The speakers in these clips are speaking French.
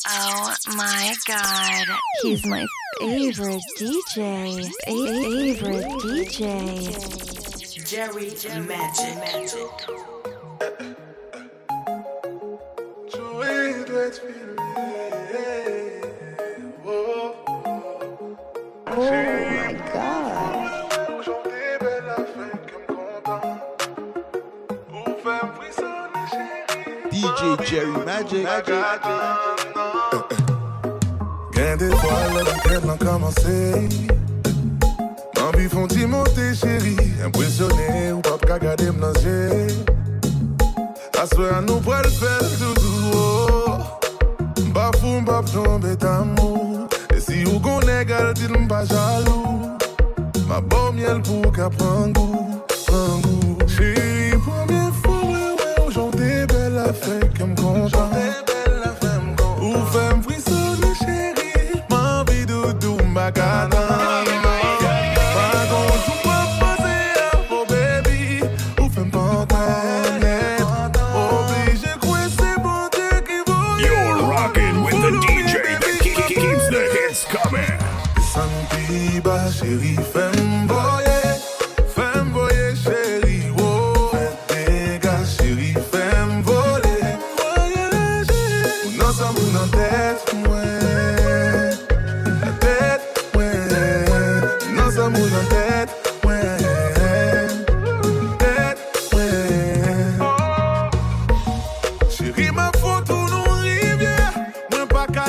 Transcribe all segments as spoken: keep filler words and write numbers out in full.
Oh my god. He's my favorite D J. Favorite D J. Jerry Magic. Magic. Oh my god. D J Jerry Magic. Gain d'étoiles, la quête n'a commencé. M'envie font-ils monter, chérie. Impressionné ou pas qu'à garder m'nager. À ce à nous pour le faire tout doux. M'pas fou, m'pas tomber d'amour. Et si vous connaissez, dites-moi pas jaloux. Ma bonne miel pour qu'à prendre goût, prendre goût. Chérie, première fois, ouais, ouais, aujourd'hui, belle la fête qui me content. Ou fait me frissonner, chérie. M'envie de doudou, m'bagada. Par contre, ou pas passer à vos baby. Ou fait me pantaner. Obligé de couer, c'est bon Dieu qui vaut. You're rocking with the D J that keeps the hits coming. Santi ba chérie, femme voyer, femme voyer chérie, oh. Fais dégâts chérie, femme voler, voyager. Non ça mou dans tête, ouais, la tête, ouais. Non ça mou dans tête, ouais, tête, ouais. Chérie ma photo nous rivière, moi pas qu'à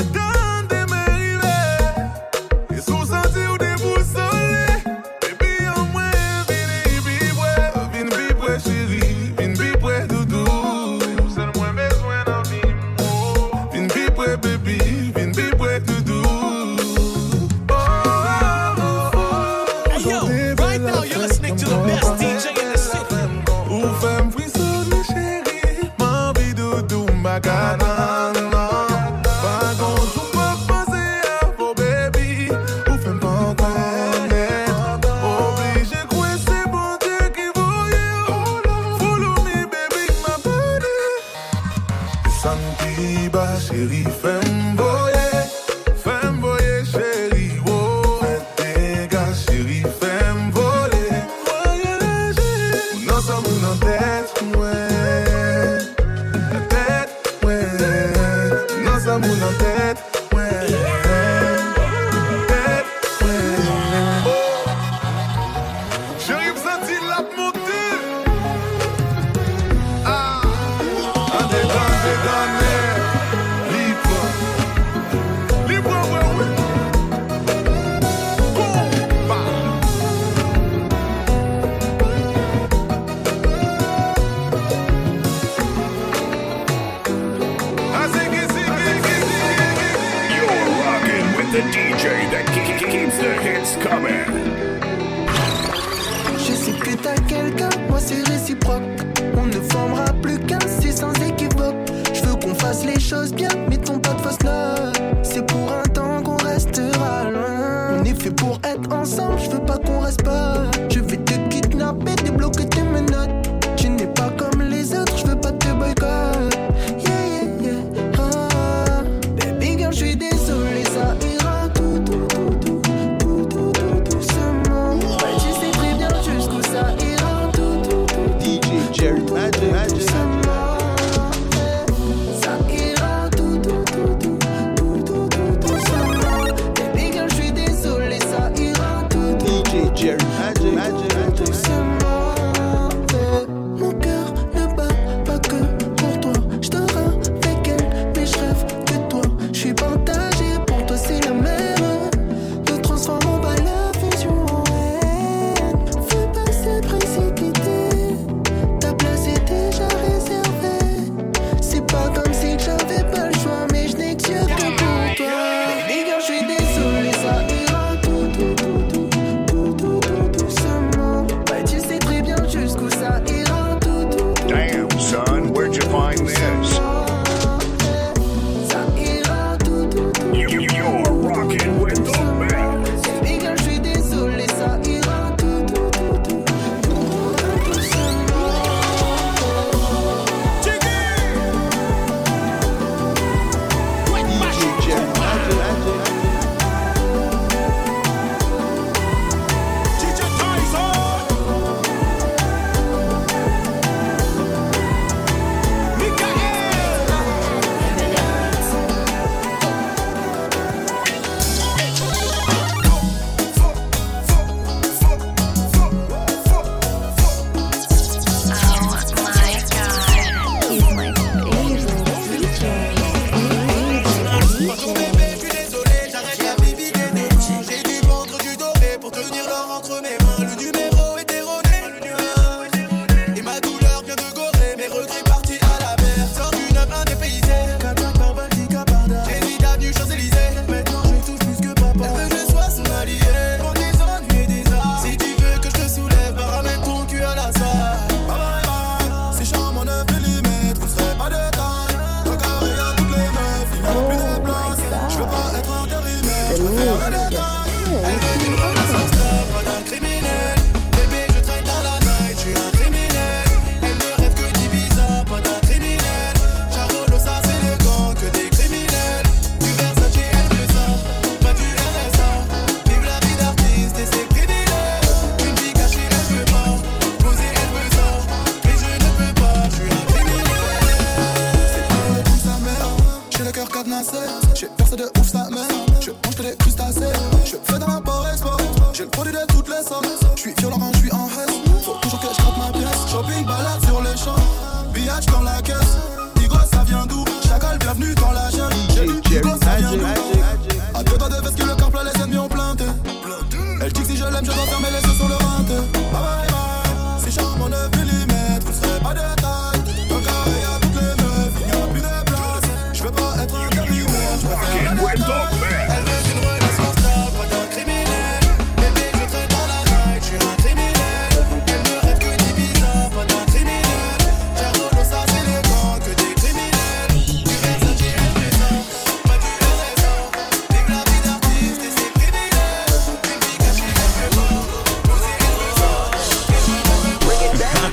cadenassé. J'ai percé de ouf sa mère. Je mange que des crustacés. Je fais dans l'import-export. J'ai le produit de toutes les sortes. J'suis violent quand j'suis en reste. Faut toujours que j'gratte ma pièce. Shopping, balade sur les champs. Billage dans la caisse. Digo, ça vient d'où? Chacal, bienvenue dans la jungle. J'ai dit Digo, ça vient d'où? A deux doigts de veste que le corps plat, les ennemis ont planté. Elle dit que si je l'aime, je dois fermer les yeux sur le ventre. Bye bye bye. Si charme neuf millimètres, vous serez pas de taille. Dans le carré y'a toutes les meufs, il n'y a plus de place. Je veux pas être un terminaire, je préfère la détaille. Elle veut une relation stable, pas d'un criminel. Bébé, je traîne dans la night, je suis un criminel. Elle me rêve que des bizarres, pas d'un criminel. J'arrête ça, c'est les gants, que des criminels. Du Versace, elle présent, pas du R S A. Vive la vie d'artiste et c'est criminel. Une vie cachée, elle fait mort. Posez les présents, et je me bring it back.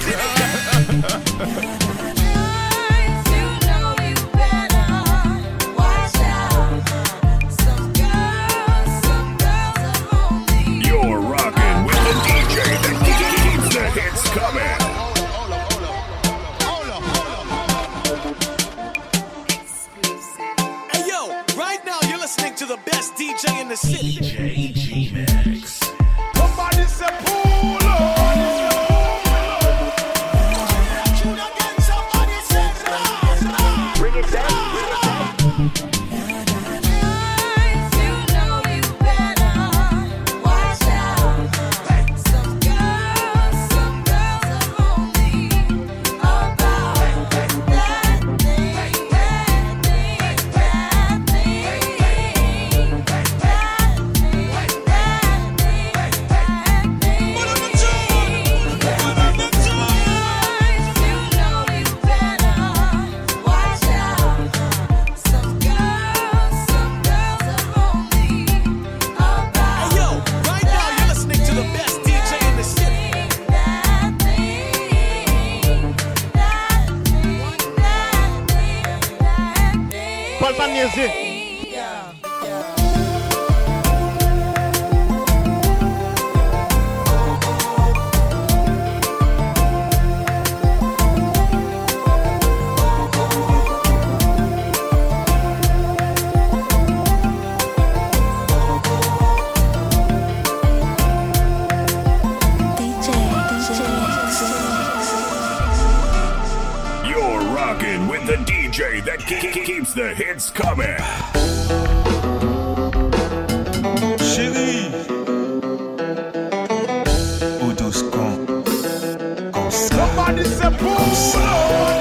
To the best D J in the city. D J G-Max. Somebody say pull up. Somebody say rise. Bring it down. The hits coming. Chérie, ou douce con, comme ça. Somebody say pull up.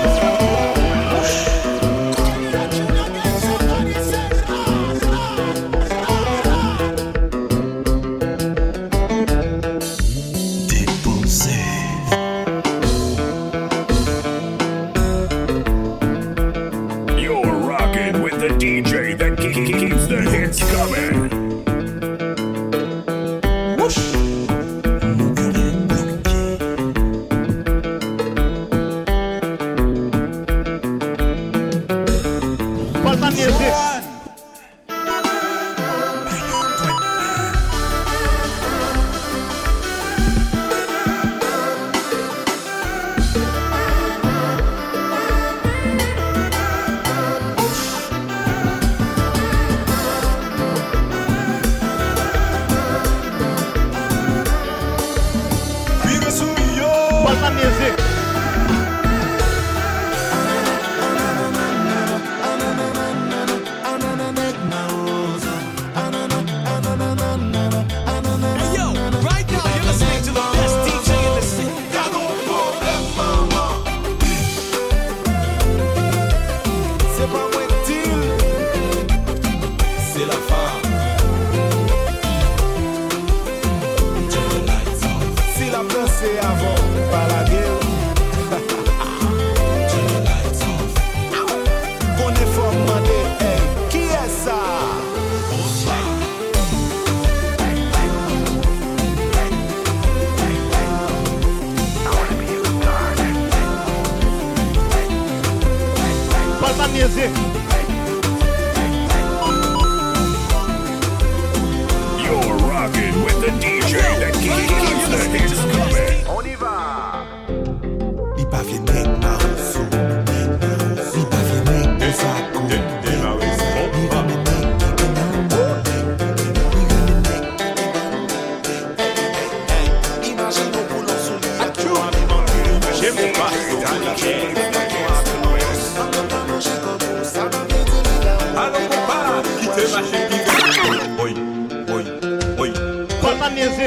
music. You're rocking with the D J that keeps the hits coming. On y va. Il parvient avec Marceau. Il parvient avec des accords. Allons compas, quittez ma chérie. Oui, oui, oui. Pas mal niaiser.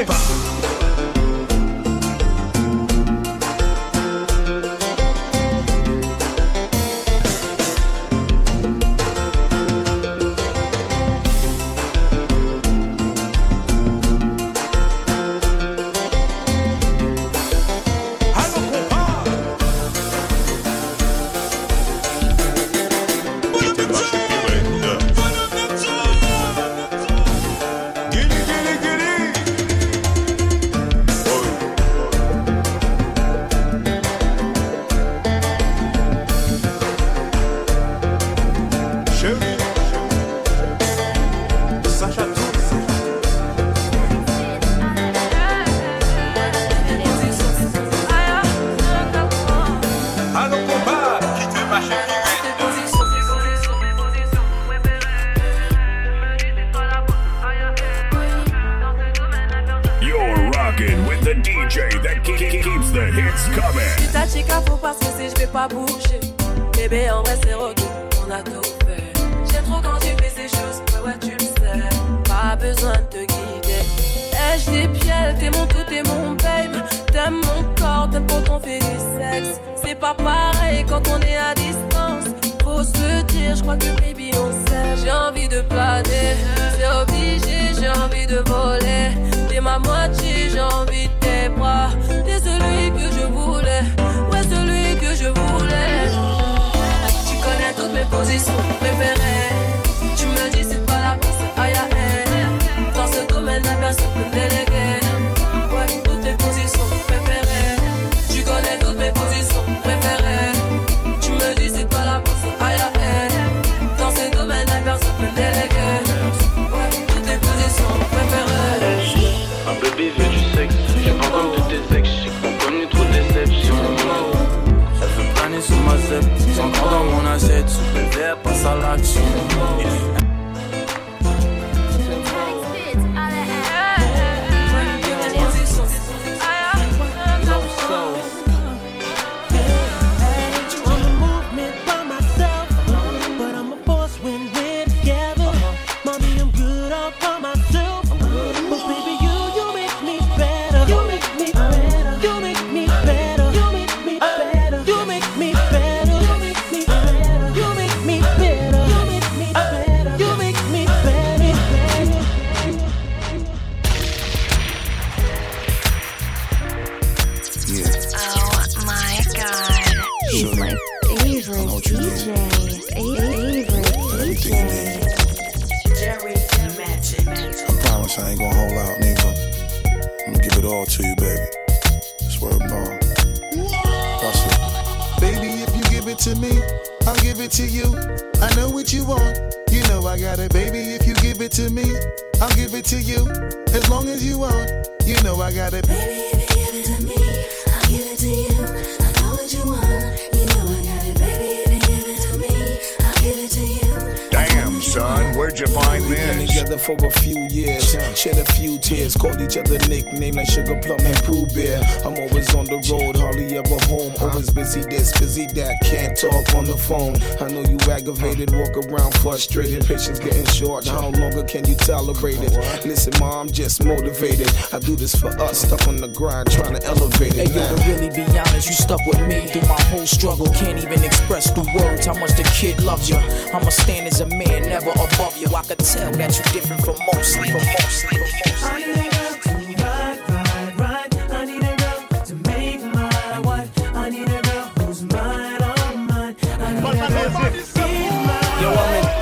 Frustrated, patience getting short. How longer can you tolerate it? Listen, ma, I'm just motivated. I do this for us, stuck on the grind, trying to elevate it. Hey, yo, to really be honest, you stuck with me through my whole struggle. Can't even express through words how much the kid loves you. I'ma stand as a man, never above you. I could tell that you different from most, from most, from most. I need a girl to ride, ride, ride. I need a girl to make my wife. I need a girl who's mine, all mine. I need a girl to be mine. Yo, I'm in.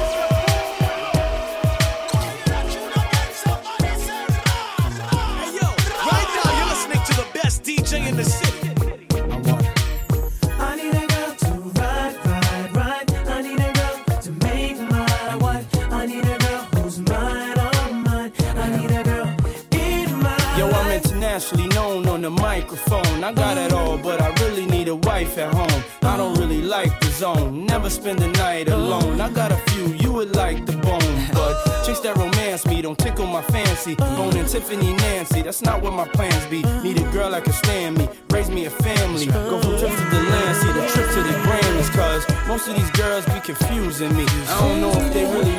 D J in the city. I need a girl to ride, ride, ride. I need a girl to make my wife. I need a girl who's mine, all mine. I need a girl in my Yo, I'm internationally known on the microphone. I got it all, but I really need a wife at home. I don't really like the zone. Never spend the night alone. I got a few you would like the bone, but chicks that romance me don't tickle my fancy. Bone and Tiffany Nancy, that's not what my plans be. Need a girl that can stand me, raise me a family. Go from trip to the land, see the trip to the Grammys. Cause most of these girls be confusing me. I don't know if they really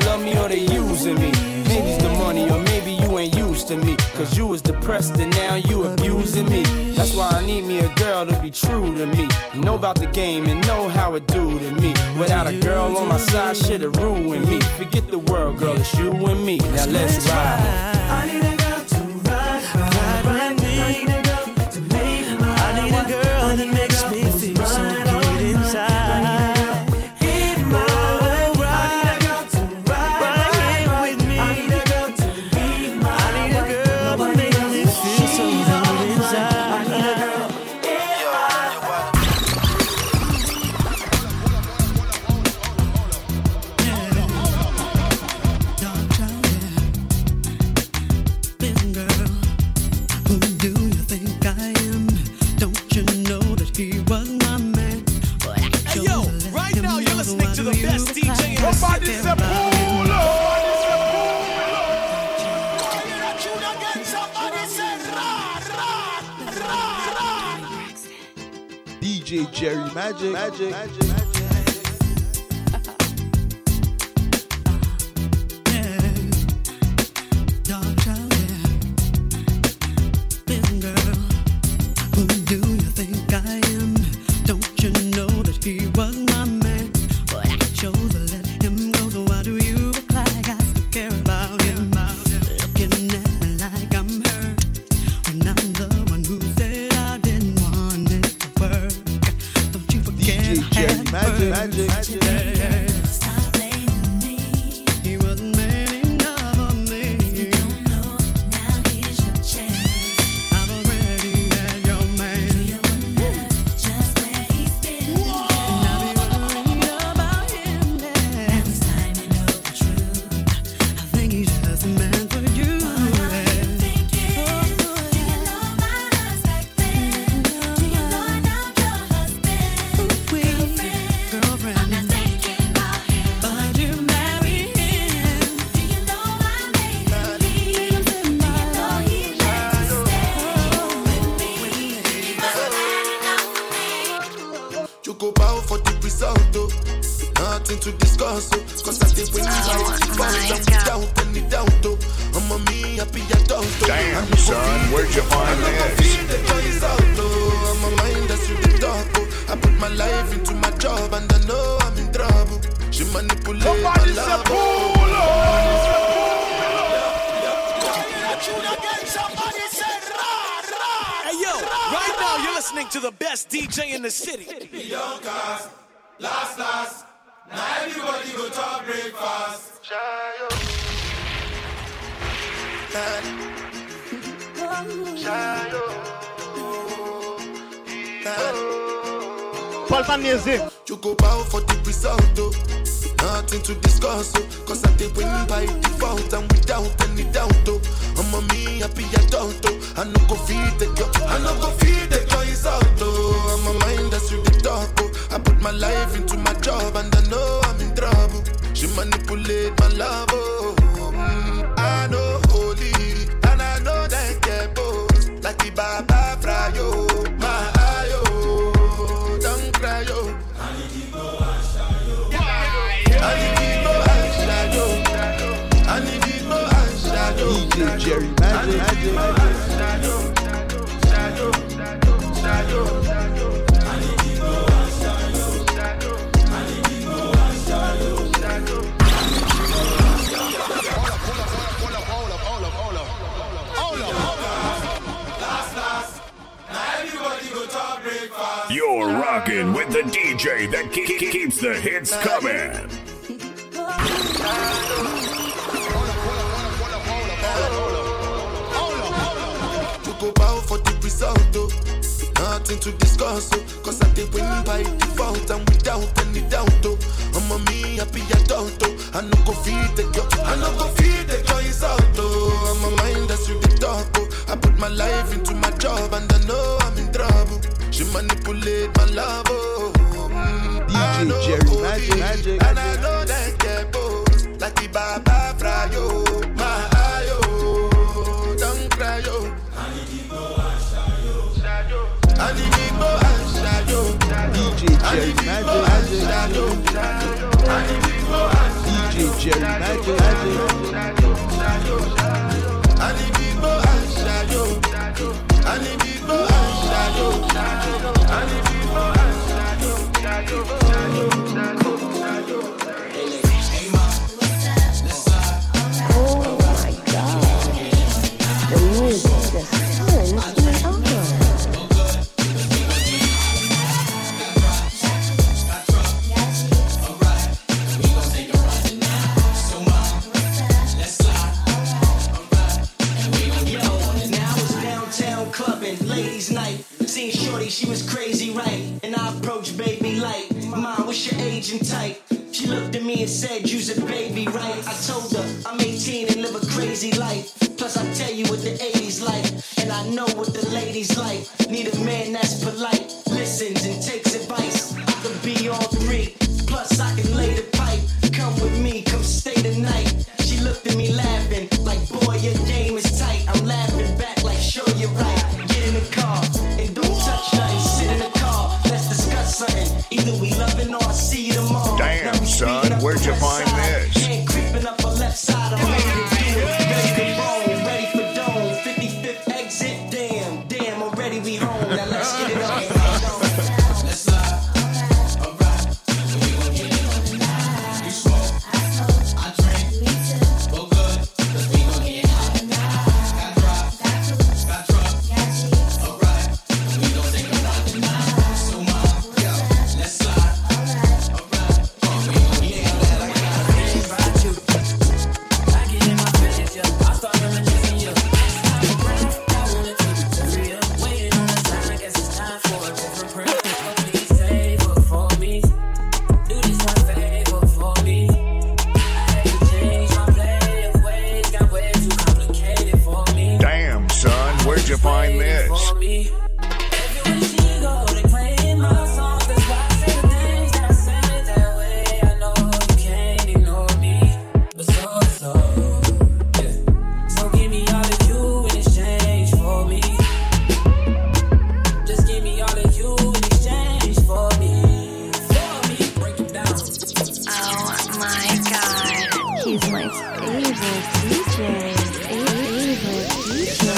used to me. Cause you was depressed and now you abusing me. That's why I need me a girl to be true to me. Know about the game and know how it do to me. Without a girl on my side, shit'll ruin me. Forget the world, girl, it's you and me. Now let's ride. I need a girl to ride, ride, ride with me. I need a girl to make my I need a girl that makes me feel so good inside. D J Jerry Magic, Magic, Magic, Magic. Damn, son, where'd you find this? I put my life into my job and I know I'm in trouble. She manipulate my love. Hey yo, right now you're listening to the best D J in the city. Young cast, last last, now everybody go to breakfast. You go bow for the result, oh. Nothing to discuss, oh. Cause I did win by default and without any doubt, oh. I'm a me happy adult, oh. I no go feed the girl, I no go feed the girl is out, oh. I'm a mind that's with the talk, oh. I put my life into my job and I know I'm in trouble. She manipulate my love, oh. Mm, I know holy and I know that get both. Like the Baba Frayo, my ayo, don't cry, yo. I need to go and shadow. I need to go and shadow. I need to go and shadow. D J Jerry Magic, Magic, Magic. Shadow, shadow, shadow, shadow, shadow. I need to go and shadow. I need to go and shadow, shadow. You're rocking with the D J that ke- ke- keeps the hits coming. You go bow for the result, oh. Nothing to discuss, oh. Cause I did win by default and without any doubt, oh. I'm a me happy adult, oh. I no go feed the girl, I no go feed the girl is out, oh. I'm a mind that's with the talk, oh. I put my life into my job and I know I'm in trouble. She manipulate my love, oh. Mm, D J Jerry Magic, Magic, and I know that get both. Like the Baba Frayo, my ayo, don't cry, yo. I need to go and shadow. I need to go and shadow. D J Jerry Magic, Magic, I need to go and D J Jerry Magic, Magic. I need to I need people and shadow, I need people and shadow, shadow, shadow, shadow, shadow. Oh my God, the music just turns me on. Ladies' night, seen shorty, she was crazy, right? And I approached baby like, Mom, what's your age and type? She looked at me and said, you's a baby, right? I told her, I'm eighteen and live a crazy life. Plus I tell you what the eighties like, and I know what the ladies like. Need a man that's polite, listens and takes advice. I could be all three, plus I can lay the pipe. Come with me, come stay the night. She looked at me laughing, like, boy, your game is tight. I'm laughing back like, sure you're right. In the car, and don't touch nothing. Sit in the car, let's discuss something. Either we loving or I see you tomorrow. Damn, son, where'd you find this? Hand creeping up a left side, I'm ready to do it. Ready to roll, ready for dome. fifty-fifth exit, damn, damn, already we home. Now let's get it on. Let's slide. Alright, we gon' get it on tonight. You smoke, I drink, go good, cause we gon' get hot tonight. Got drop, got truck. Damn, son, where'd you find this? He's my favorite D J. Favorite D J.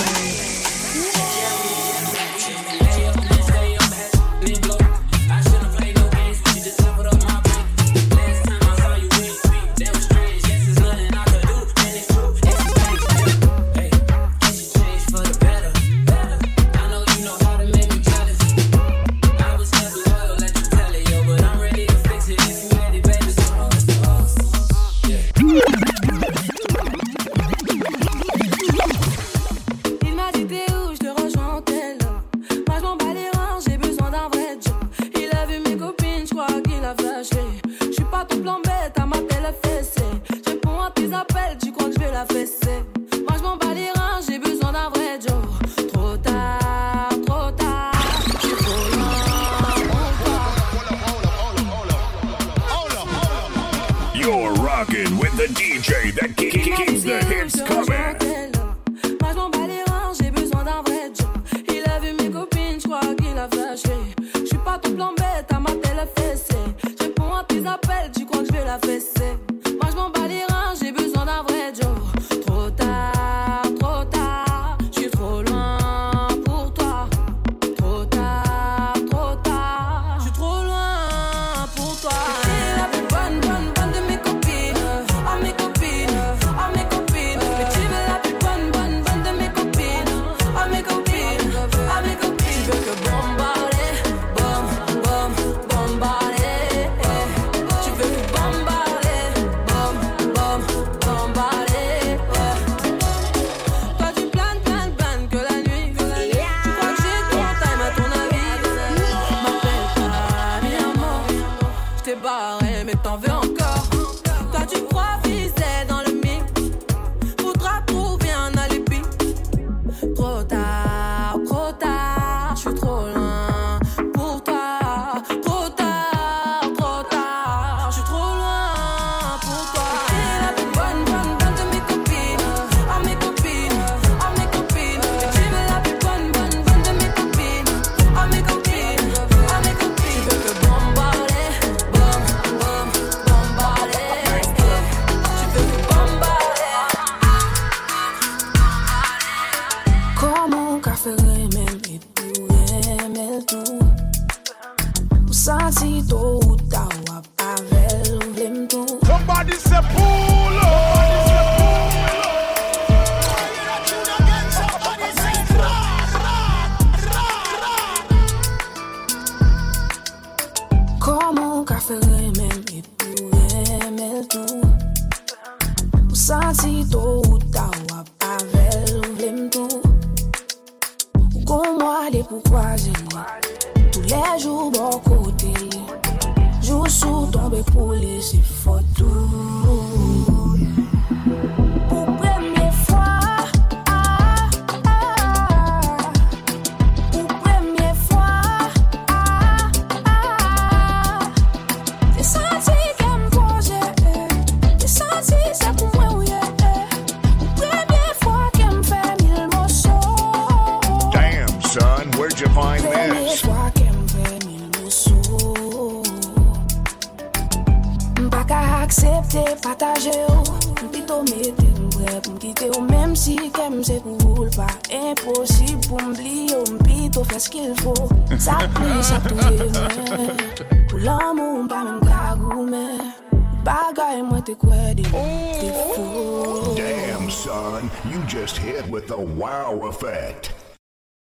You're rocking with the D J that keeps the hits coming. Moi je m'en bats les reins, j'ai besoin d'un vrai job. Il a vu mes copines, je crois qu'il a flashé. Je suis pas tout plan bête, à ma télé fessée. Je réponds à tes appels, tu crois que je vais la fesser. Moi je m'en bats les reins, j'ai besoin d'un vrai job. Trop tard, trop tard, je suis trop loin pour toi. Trop tard, trop tard, je suis trop loin pour toi. T'es la plus bonne, bonne, bonne de mes copines. Oh mes copines, oh mes copines. Mais tu veux la plus bonne, bonne, bonne de mes copines. Oh mes copines, oh mes copines. Tu veux que bombarder, bom, bom, bombarder. Tu veux que bombarder, Santi to ou ta wap avel vlem tou. Ou kon mwa de pou kwaze tous les jours bon côté. Jou sou tombe pou lese fotou. Pour première fois, ah, ah, pour première fois, ah, ah, j'ai senti qu'elle me posait, j'ai senti c'est pour moi où il est. Première fois qu'elle me fait mille morceaux. Damn, son, where'd you find Première this? fois qu'elle me fait mille morceaux. M'pas accepter, partager, m'pito mette m'prêt pour m'quitter ou même si qu'aime c'est pour le pas impossible pour m'oublier ou m'pito faire ce qu'il faut. Ça plie, ça touille, pour l'amour m'pas même kagoume. Bagay moi te quoi de défaut. Damn, son, you just hit with the wow effect.